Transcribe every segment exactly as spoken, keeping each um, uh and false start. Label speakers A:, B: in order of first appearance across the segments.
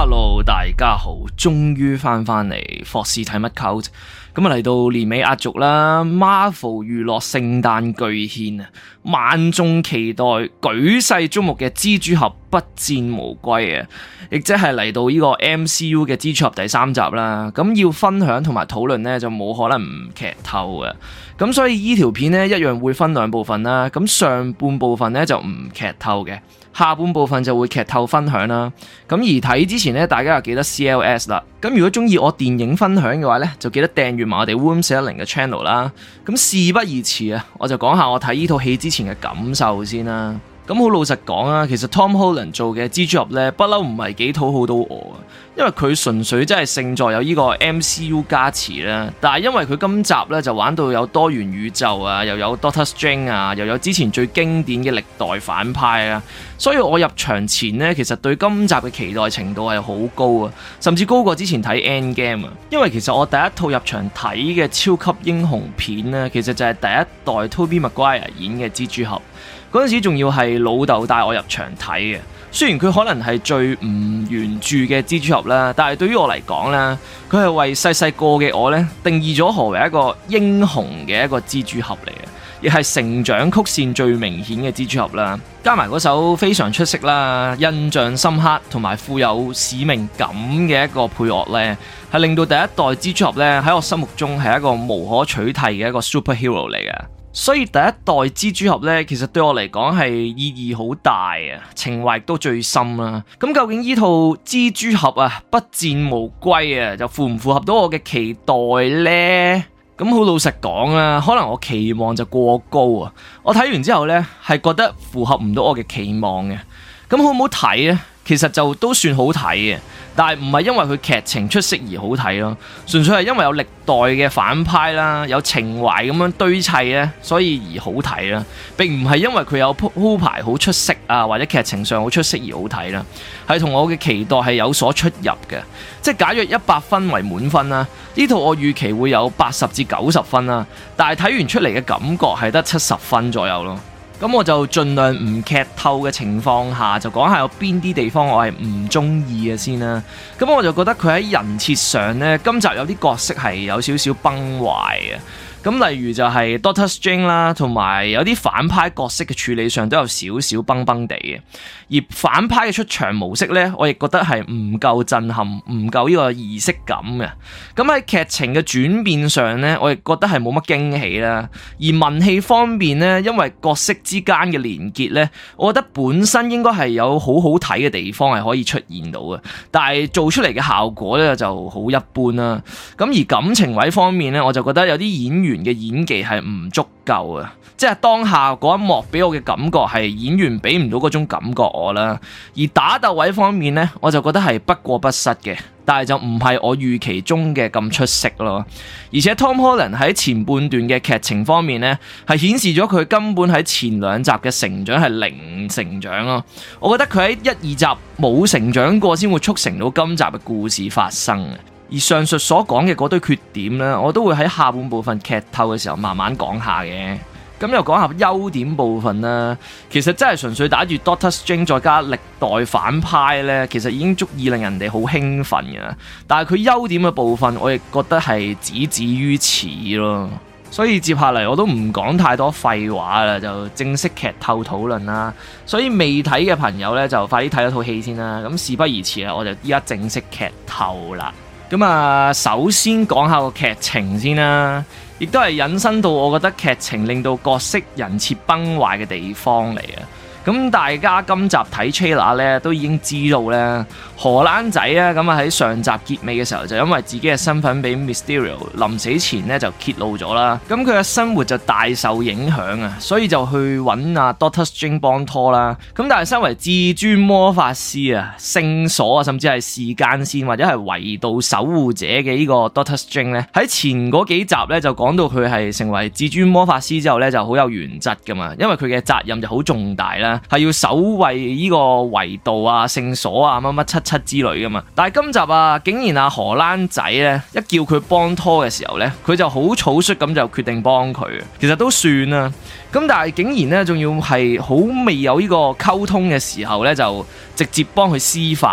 A: Hello， 大家好，終於翻返嚟霍士睇乜 Cult，咁啊嚟到年尾壓軸啦 ，Marvel 娛樂聖誕巨獻啊，萬眾期待、舉世矚目嘅蜘蛛俠不戰無歸啊，亦即係嚟到呢個 M C U 嘅蜘蛛俠第三集啦。咁要分享同埋討論呢，就冇可能唔劇透嘅，咁所以呢條片呢，一樣會分兩部分啦。咁上半部分呢，就唔劇透嘅。下半部分就會劇透分享啦，咁而睇之前咧，大家又記得 C L S 啦。咁如果中意我電影分享嘅話咧，就記得訂閱埋我哋 Room 四一零嘅 channel 啦。咁事不宜遲啊，我就講下我睇呢套戲之前嘅感受先啦。咁好老實講啊，其實 Tom Holland 做嘅蜘蛛俠咧，不嬲唔係幾討好到我啊，因為佢純粹真係勝在有呢個 M C U 加持啦。但係因為佢今集咧就玩到有多元宇宙啊，又有 Doctor Strange 啊，又有之前最經典嘅歷代反派啊，所以我入場前呢，其實對今集嘅期待程度係好高啊，甚至高過之前睇 Endgame 啊。因為其實我第一套入場睇嘅超級英雄片呢，其實就係第一代 Tobey Maguire 演嘅蜘蛛俠。嗰陣時仲要係老豆帶我入場睇嘅，雖然佢可能係最唔原著嘅蜘蛛俠啦，但係對於我嚟講咧，佢係為細細個嘅我咧定義咗何為一個英雄嘅一個蜘蛛俠嚟嘅，亦係成長曲線最明顯嘅蜘蛛俠啦。加埋嗰首非常出色啦、印象深刻同埋富有使命感嘅一個配樂咧，係令到第一代蜘蛛俠咧喺我心目中係一個無可取替嘅一個 superhero 嚟嘅。所以第一代蜘蛛俠咧，其實對我嚟講係意義好大啊，情懷亦都最深啦。咁究竟呢套蜘蛛俠啊不戰無歸啊，就符唔符合到我嘅期待呢？咁好老實講啊，可能我期望就過高啊。我睇完之後呢，係覺得符合唔到我嘅期望嘅。咁好唔好睇呢？其實就都算好睇嘅，但係唔係因為佢劇情出色而好睇咯，純粹係因為有歷代嘅反派啦，有情懷咁樣堆砌咧，所以而好睇啦，並唔係因為佢有鋪排好出色啊，或者劇情上好出色而好睇啦，係同我嘅期待係有所出入嘅。即係假若一百分為滿分啦，呢套我預期會有八十至九十分啦，但係睇完出嚟嘅感覺係得七十分左右咯。咁我就盡量唔劇透嘅情況下，就講下有邊啲地方我係唔中意嘅先啦。咁我就覺得佢喺人設上呢，今集有啲角色係有少少崩壞嘅。咁例如就係 Doctor Strange 啦，同埋有啲反派角色嘅處理上都有少少崩崩地嘅。而反派嘅出場模式呢，我亦覺得係唔夠震撼，唔夠呢個儀式感嘅。咁喺劇情嘅轉變上呢，我亦覺得係冇乜驚喜啦。而文戲方面呢，因為角色之間嘅連結呢，我覺得本身應該係有好好睇嘅地方係可以出現到嘅，但係做出嚟嘅效果呢就好一般啦。咁而感情位方面呢，我就覺得有啲演員嘅演技係唔足夠啊，即係當下嗰一幕俾我嘅感覺係演員俾唔到嗰種感覺我啦。而打鬥位方面呢，我就覺得係不過不失嘅，但係就唔係我預期中嘅咁出色咯。而且 Tom Holland 喺前半段嘅劇情方面呢，係顯示咗佢根本喺前兩集嘅成長係零成長咯。我覺得佢喺一二集冇成長過，先會促成到今集嘅故事發生嘅。而上述所講嘅嗰堆缺點呢，我都會喺下半部分劇透嘅時候慢慢講下嘅。咁又講下優點部分啦，其實真係純粹打住 Doctor Strange 再加歷代反派呢，其實已經足以令人哋好興奮嘅。但係佢優點嘅部分，我亦覺得係只止於此咯。所以接下嚟我都唔講太多廢話啦，就正式劇透討論啦。所以未睇嘅朋友呢，就快啲睇咗套戲先啦。咁事不宜遲啦，我就依家正式劇透啦。咁啊，首先講下個劇情先啦，亦都係引申到我覺得劇情令到角色人設崩壞嘅地方嚟啊。咁大家今集睇 trailer 咧，都已經知道咧，荷蘭仔咧咁啊喺上集結尾嘅時候，就因為自己嘅身份俾 Mysterio 臨死前咧就揭露咗啦。咁佢嘅生活就大受影響啊，所以就去揾阿 Doctor Strange 幫拖啦。咁但係身為至尊魔法師啊、聖所啊，甚至係時間線或者係維度守護者嘅呢個 Doctor Strange 咧，喺前嗰幾集咧就講到佢係成為至尊魔法師之後咧就好有原則噶嘛，因為佢嘅責任就好重大啦。係要守衛呢個維度啊、聖所啊、乜乜七七之類噶嘛。但係今集啊，竟然啊荷蘭仔咧一叫佢幫拖嘅時候咧，佢就好草率咁就決定幫佢。其實都算啦。咁但係竟然咧，仲要係好未有呢個溝通嘅時候咧，就直接幫佢施法啦。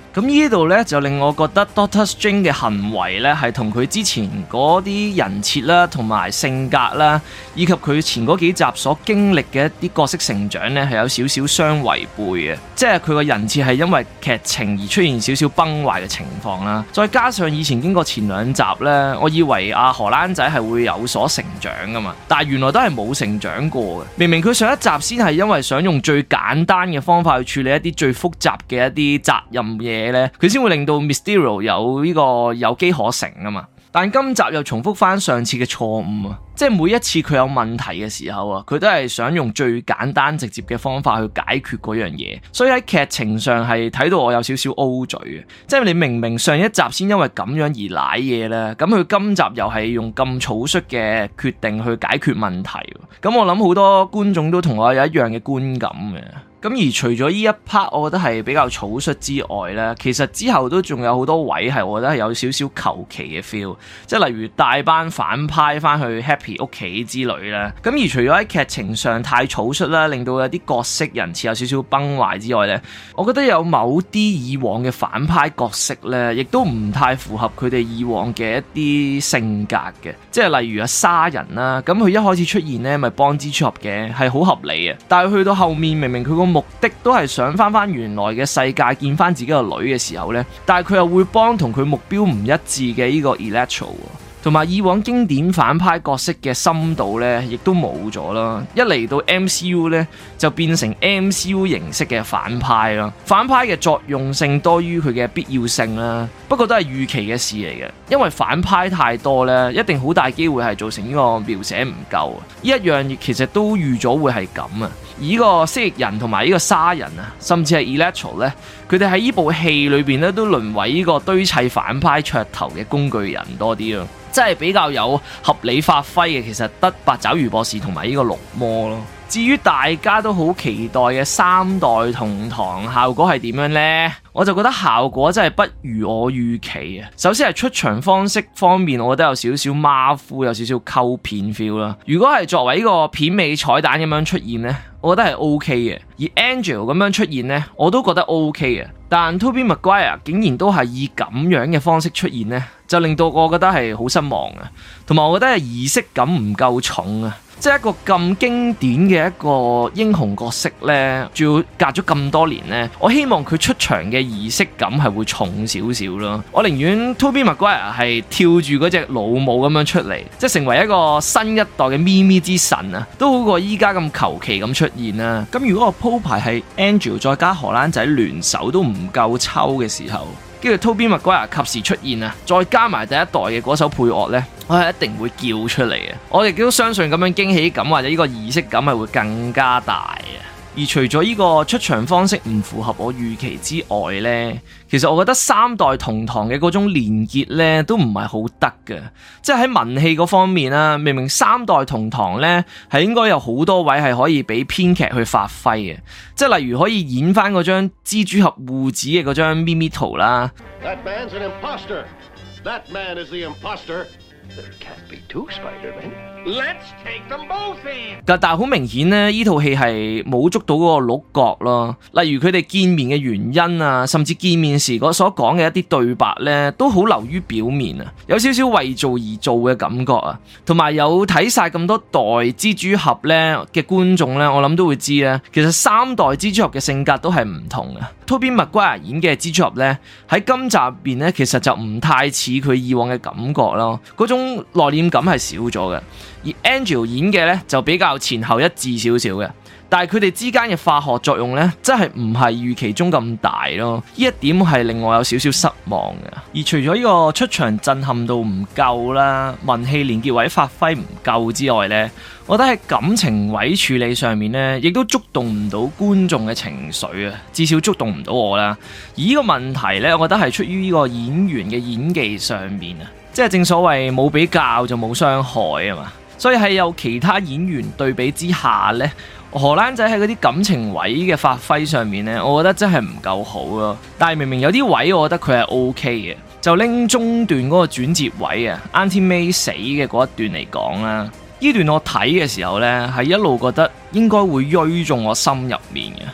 A: 咁呢度呢，就令我覺得 Doctor Strange 嘅行為呢，係同佢之前嗰啲人設啦，同埋性格啦，以及佢前嗰幾集所經歷嘅一啲角色成長呢，係有少少相違背嘅。即係佢個人設係因為劇情而出現少少崩壞嘅情況啦。再加上以前經過前兩集呢，我以為阿荷蘭仔係會有所成長噶嘛，但係原來都係冇成長過嘅。明明佢上一集先係因為想用最簡單嘅方法去處理一啲最複雜嘅一啲責任嘢。佢先會令到 Mysterio 有呢個有機可乘啊嘛，但今集又重複翻上次嘅錯誤啊，即係每一次佢有問題嘅時候啊，佢都係想用最簡單直接嘅方法去解決嗰樣嘢，所以喺劇情上係睇到我有少少 O 嘴嘅，即係你明明上一集先因為咁樣而舐嘢咧，咁佢今集又係用咁草率嘅決定去解決問題，咁我諗好多觀眾都同我有一樣嘅觀感嘅。咁而除咗呢一 part 我覺得係比較草率之外呢，其實之後都仲有好多位係我覺得係有少少求其嘅 feel， 即係例如帶班反派翻去 Happy 屋企之類啦。咁而除咗喺劇情上太草率啦，令到有啲角色人設有少少崩壞之外呢，我覺得有某啲以往嘅反派角色呢，亦都唔太符合佢哋以往嘅一啲性格嘅，即係例如阿沙人啦，咁佢一開始出現呢咪幫蜘蛛俠嘅，係好合理嘅，但係去到後面明明佢個目的都係想翻翻原來嘅世界見翻自己個女嘅時候呢，但係佢又會幫同佢目標唔一致嘅呢個 Electro， 同埋以往經典反派角色嘅深度呢亦都冇咗啦。一嚟到 M C U 呢，就變成 M C U 形式嘅反派啦，反派嘅作用性多於佢嘅必要性啦。不過都係預期嘅事嚟嘅，因為反派太多呢，一定好大機會係造成呢個描寫唔夠。呢一樣其實都預咗會係咁啊。而呢個蜥蜴人同埋呢個沙人啊，甚至係 Electro 咧，佢哋喺呢部戲裏邊咧都淪為呢個堆砌反派噱頭嘅工具人多啲咯，即係比較有合理發揮嘅，其實得八爪魚博士同埋呢個綠魔咯。至於大家都好期待嘅三代同堂效果係點樣呢？我就覺得效果真係不如我預期啊！首先係出場方式方面，我覺得有少少馬虎，有少少溝片 feel 啦。如果係作為呢個片尾彩蛋咁樣出現呢，我覺得係 OK 嘅。而 Angel 咁樣出現呢，我都覺得 OK 嘅。但 Tobey Maguire 竟然都係以咁樣嘅方式出現呢，就令到我覺得係好失望啊！同埋我覺得係儀式感唔夠重啊！即係一個咁經典嘅一個英雄角色呢，仲要隔咗咁多年呢，我希望佢出場嘅儀式感係會重少少咯。我寧願 Tobey Maguire 係跳住嗰隻老母咁樣出嚟，即係成為一個新一代嘅咪咪之神啊，都好過依家咁求其咁出現啦。咁如果我鋪排係 Angel 再加荷蘭仔聯手都唔夠抽嘅時候，跟住 Tobey Maguire 及時出現啊，再加埋第一代嘅嗰首配樂呢，我係一定會叫出嚟嘅。我亦都相信咁樣驚喜感或者呢個儀式感係會更加大嘅。而除咗呢個出場方式唔符合我預期之外呢，其實我覺得三代同堂嘅嗰種連結呢都唔係好得嘅。即係喺文戲嗰方面啦，明明三代同堂呢係應該有好多位係可以俾編劇去發揮嘅，即係例如可以演翻嗰張蜘蛛俠護指嘅嗰張咪咪圖啦。That man's an imposter. That man is the imposter. There can't be two Spider-Men. Let's take them both in. 但係好明顯呢，呢套戲係冇捉到嗰個鹿角咯。例如佢哋見面嘅原因啊，甚至見面時嗰所講嘅一啲對白呢，都好流於表面啊，有少少為做而做嘅感覺啊。同埋有睇晒咁多代蜘蛛俠呢嘅觀眾呢，我諗都會知咧，其實三代蜘蛛俠嘅性格都係唔同啊。Tobey Maguire 演嘅蜘蛛俠呢，喺今集入邊呢，其實就唔太似佢以往嘅感覺咯，嗰種內斂感係少咗嘅。而 Angel 演嘅呢，就比較前後一致少少嘅，但係佢哋之間嘅化學作用呢，真係唔係預期中咁大咯。呢一點係令我有少少失望嘅。而除咗呢個出場震撼度唔夠啦，文戲連結位發揮唔夠之外呢，我覺得喺感情位處理上面呢，亦都觸動唔到觀眾嘅情緒啊，至少觸動唔到我啦。而呢個問題呢，我覺得係出於呢個演員嘅演技上面啊，即係正所謂冇比較就冇傷害啊嘛。所以喺有其他演員對比之下呢，荷蘭仔喺嗰啲感情位嘅發揮上面呢，我覺得真係唔夠好咯。但係明明有啲位我覺得佢係 O K 嘅，就拎中段嗰個轉接位啊 Auntie May 死嘅嗰一段嚟講啦，呢段我睇嘅時候呢，係一路覺得應該會錐中我心入面嘅。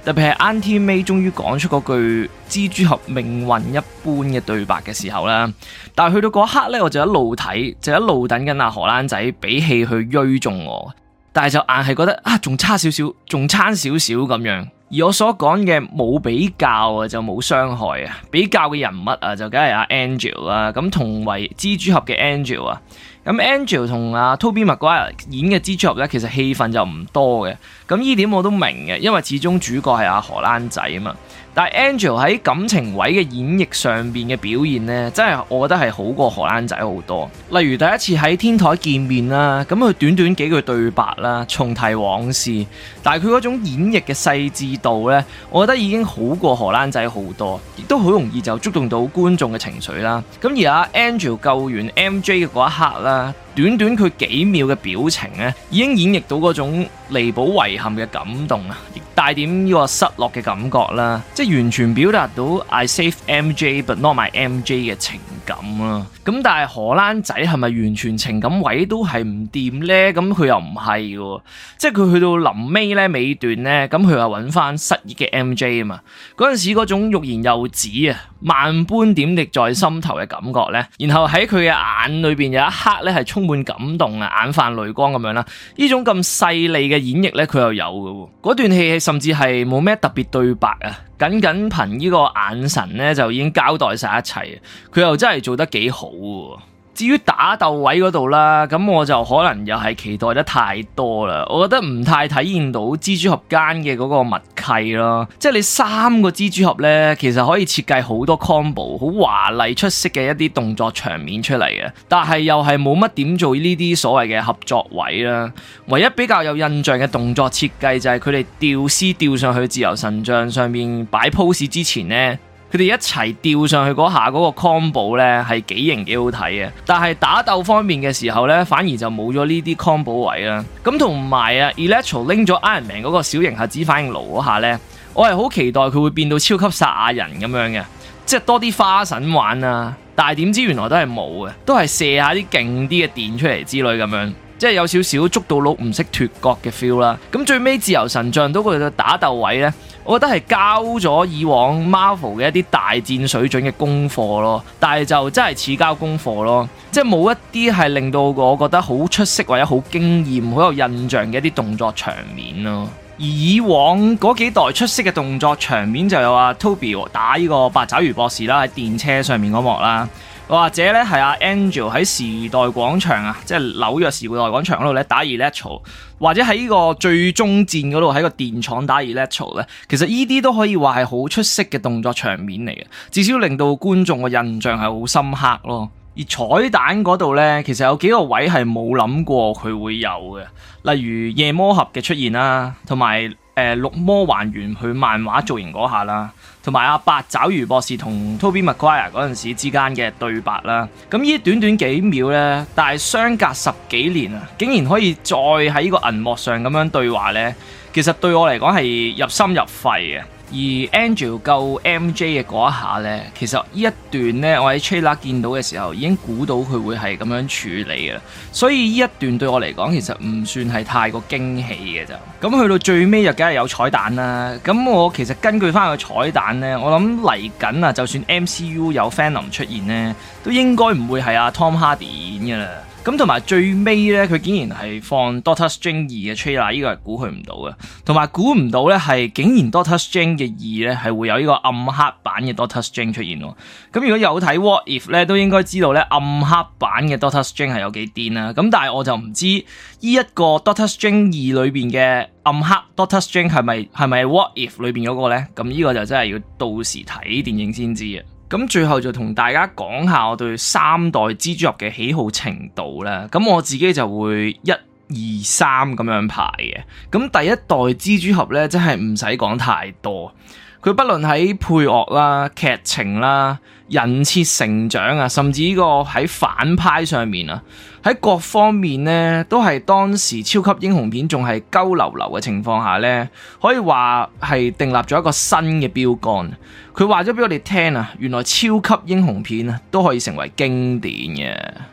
A: 特別係 Auntie May 終於講出嗰句蜘蛛俠命運一般嘅對白嘅時候啦，但係去到嗰刻咧，我就一路睇，就一路等緊阿荷蘭仔俾氣去追中我，但係就硬係覺得啊，仲差少少，仲差少少咁樣。而我所講嘅冇比較啊，就冇傷害啊，比較嘅人物啊，就梗係阿 Angel 啦，咁同為蜘蛛俠嘅 Angel 啊。咁 Angel 同阿 Tobey Maguire 演嘅蜘蛛俠咧，其實戲份就唔多嘅。咁呢點我都明嘅，因為始終主角係阿荷蘭仔啊嘛。但係 Angel 喺感情位嘅演繹上邊嘅表現咧，真係我覺得係好過荷蘭仔好多。例如第一次喺天台見面啦，咁佢短短幾句對白啦，重提往事，但係佢嗰種演繹嘅細緻度咧，我覺得已經好過荷蘭仔好多，亦都好容易就觸動到觀眾嘅情緒啦。咁而阿 Angel 救完 M J 嘅嗰一刻啦，短短佢幾秒嘅表情咧，已經演繹到嗰種彌補遺憾嘅感動啊，亦帶點呢個失落嘅感覺啦，即係完全表達到 I save M J but not my M J 嘅情感啊。咁但係荷蘭仔係咪完全情感位都係唔掂呢？咁佢又唔係嘅，即係佢去到臨尾咧尾段咧，咁佢又揾翻失憶嘅 M J 啊嘛。嗰陣時嗰種欲言又止啊，萬般點滴在心頭嘅感覺咧，然後喺佢嘅眼裏邊有一刻咧係充滿感動啊，眼泛淚光咁樣啦。呢種咁細膩嘅演繹咧，佢又有嘅。嗰段戲甚至係冇咩特別對白啊，僅僅憑呢個眼神咧就已經交代晒一切。佢又真係做得幾好嘅。至於打鬥位嗰度啦，咁我就可能又係期待得太多啦。我覺得唔太體現到蜘蛛俠間嘅嗰個默契咯。即係你三個蜘蛛俠呢，其實可以設計好多 combo， 好華麗出色嘅一啲動作場面出嚟嘅，但係又係冇乜點做呢啲所謂嘅合作位啦。唯一比較有印象嘅動作設計就係佢哋吊絲吊上去自由神像上面擺 pose 之前呢，佢哋一齊吊上去嗰下嗰個 combo 咧係幾型幾好睇嘅，但係打鬥方面嘅時候咧，反而就冇咗呢啲 combo 位啦。咁同埋啊 Electro 拎咗 Iron Man 嗰個小型核子反應爐嗰下咧，我係好期待佢會變到超級撒亞人咁樣嘅，即係多啲花神玩啊！但係點知原來都係冇嘅，都係射下啲勁啲嘅電出嚟之類咁樣。即係有少少捉到鹿唔識脫角嘅 feel 啦。咁最尾自由神像到佢嘅打鬥位呢，我覺得係交咗以往 Marvel 嘅一啲大戰水準嘅功課咯。但係就真係似交功課咯，即係冇一啲係令到我覺得好出色或者好驚豔、好有印象嘅一啲動作場面咯。而以往嗰幾代出色嘅動作場面就有阿 Toby 打呢個八爪魚博士啦，喺電車上面嗰幕啦。或者咧係阿 Angel 喺時代廣場啊，即係紐約時代廣場嗰度咧打 Electro， 或者喺呢個最終戰嗰度喺個電廠打 Electro 咧，其實呢啲都可以話係好出色嘅動作場面嚟嘅，至少令到觀眾嘅印象係好深刻咯。而彩蛋嗰度咧，其實有幾個位係冇諗過佢會有嘅，例如夜魔俠嘅出現啦，同埋誒綠魔還原佢漫畫造型嗰下啦。同埋阿八爪魚博士同 Tobey Maguire 嗰陣時之間嘅對白啦，咁呢短短幾秒呢，但係相隔十幾年啊，竟然可以再喺呢個銀幕上咁樣對話呢，其實對我嚟講係入心入肺嘅。而 Angel 救 M J 嘅嗰一下呢，其實呢一段呢，我喺 trailer 見到嘅時候已經估到佢會係咁樣處理嘅，所以呢一段對我嚟講其實唔算係太過驚喜嘅咋。咁去到最尾就梗係有彩蛋啦。咁我其實根據翻個彩蛋呢，我諗嚟緊啊，就算 M C U 有 Venom 出現呢，都應該唔會係阿 Tom Hardy 演嘅啦。咁同埋最尾咧，佢竟然係放 Doctor Strange 二嘅 trailer， 呢個係估佢唔到嘅。同埋估唔到咧，係竟然 Doctor Strange 嘅二咧係會有呢個暗黑版嘅 Doctor Strange 出現喎。咁如果有睇 What If 咧，都應該知道咧暗黑版嘅 Doctor Strange 係有幾癲啦。咁但係我就唔知呢一個 Doctor Strange 二裏邊嘅暗黑 Doctor Strange 係咪係咪 What If 裏邊嗰個咧？咁呢個就真係要到時睇電影先知啊。咁最後就同大家講下我對三代蜘蛛俠嘅喜好程度啦。咁我自己就會一二三咁樣排嘅。咁第一代蜘蛛俠咧，真係唔使講太多。佢不論喺配樂啦、劇情啦、人設成長啊，甚至呢個喺反派上面啊，喺各方面呢，都係當時超級英雄片仲係鳩流流嘅情況下呢，可以話係訂立咗一個新嘅標杆。佢話咗俾我哋聽啊，原來超級英雄片啊都可以成為經典嘅。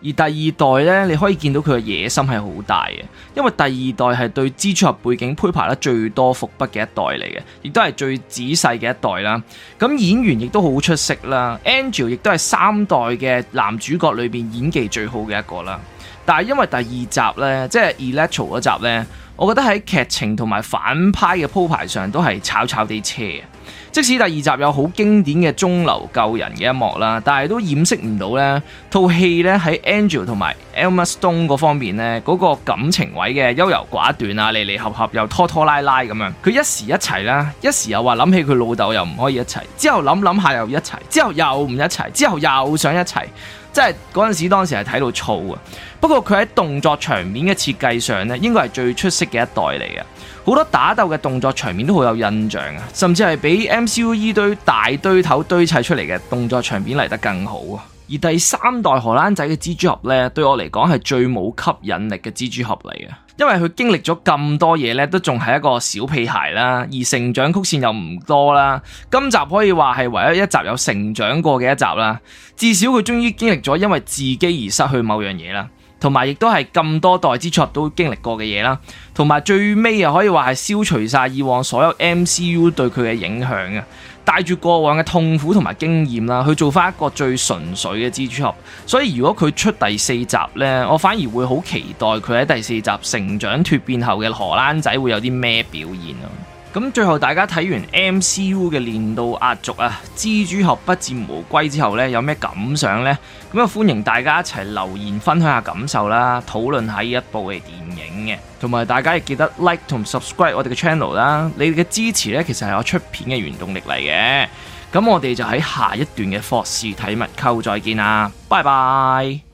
A: 而第二代呢，你可以見到佢嘅野心係好大嘅，因為第二代係對蜘蛛俠背景鋪排得最多伏筆嘅一代嚟嘅，亦都係最仔細嘅一代啦。咁演員亦都好出色啦 ，Angel 亦都係三代嘅男主角裏邊演技最好嘅一個啦。但係因為第二集呢，即係 Electro 嗰集呢，我覺得喺劇情同埋反派嘅鋪排上都係炒炒地車。即使第二集有好經典嘅中流救人嘅一幕啦，但係都掩飾唔到呢套戲呢喺 Angel 同埋 Emma Stone 嗰方面呢，嗰個感情位嘅優柔寡斷啊，離離合合又拖拖拉拉咁樣。佢一時一齊啦，一時又話諗起佢老豆又唔可以一齊，之後諗諗下又一齊，之後又唔一齊，之後又想一齊。即係嗰陣時，當時係睇到燥啊！不過佢喺動作場面嘅設計上呢，應該係最出色嘅一代嚟嘅。好多打鬥嘅動作場面都好有印象啊，甚至係比 M C U 依堆大堆頭堆砌出嚟嘅動作場面嚟得更好啊！而第三代荷蘭仔嘅蜘蛛俠呢，對我嚟講係最冇吸引力嘅蜘蛛俠嚟嘅，因為佢經歷咗咁多嘢呢，都仲係一個小屁孩啦，而成長曲線又唔多啦。今集可以話係唯一一集有成長過嘅一集啦，至少佢終於經歷咗因為自己而失去某樣嘢啦，同埋亦都係咁多代蜘蛛俠都經歷過嘅嘢啦，同埋最尾又可以話係消除晒以往所有 M C U 對佢嘅影響啊！帶住過往嘅痛苦同埋經驗啦，去做翻一個最純粹嘅蜘蛛俠。所以如果佢出第四集呢，我反而會好期待佢喺第四集成長脫變後嘅荷蘭仔會有啲咩表現咯。咁最後大家睇完 M C U 嘅年度壓軸啊，蜘蛛俠不戰無歸之後呢，有咩感想呢？咁啊歡迎大家一齊留言分享下感受啦，討論下呢一部嘅電影嘅，同埋大家亦記得 like 同 subscribe 我哋嘅 channel 啦，你哋嘅支持呢，其實係我出片嘅原動力嚟嘅。咁我哋就喺下一段嘅霍士睇物購再見啦，拜拜。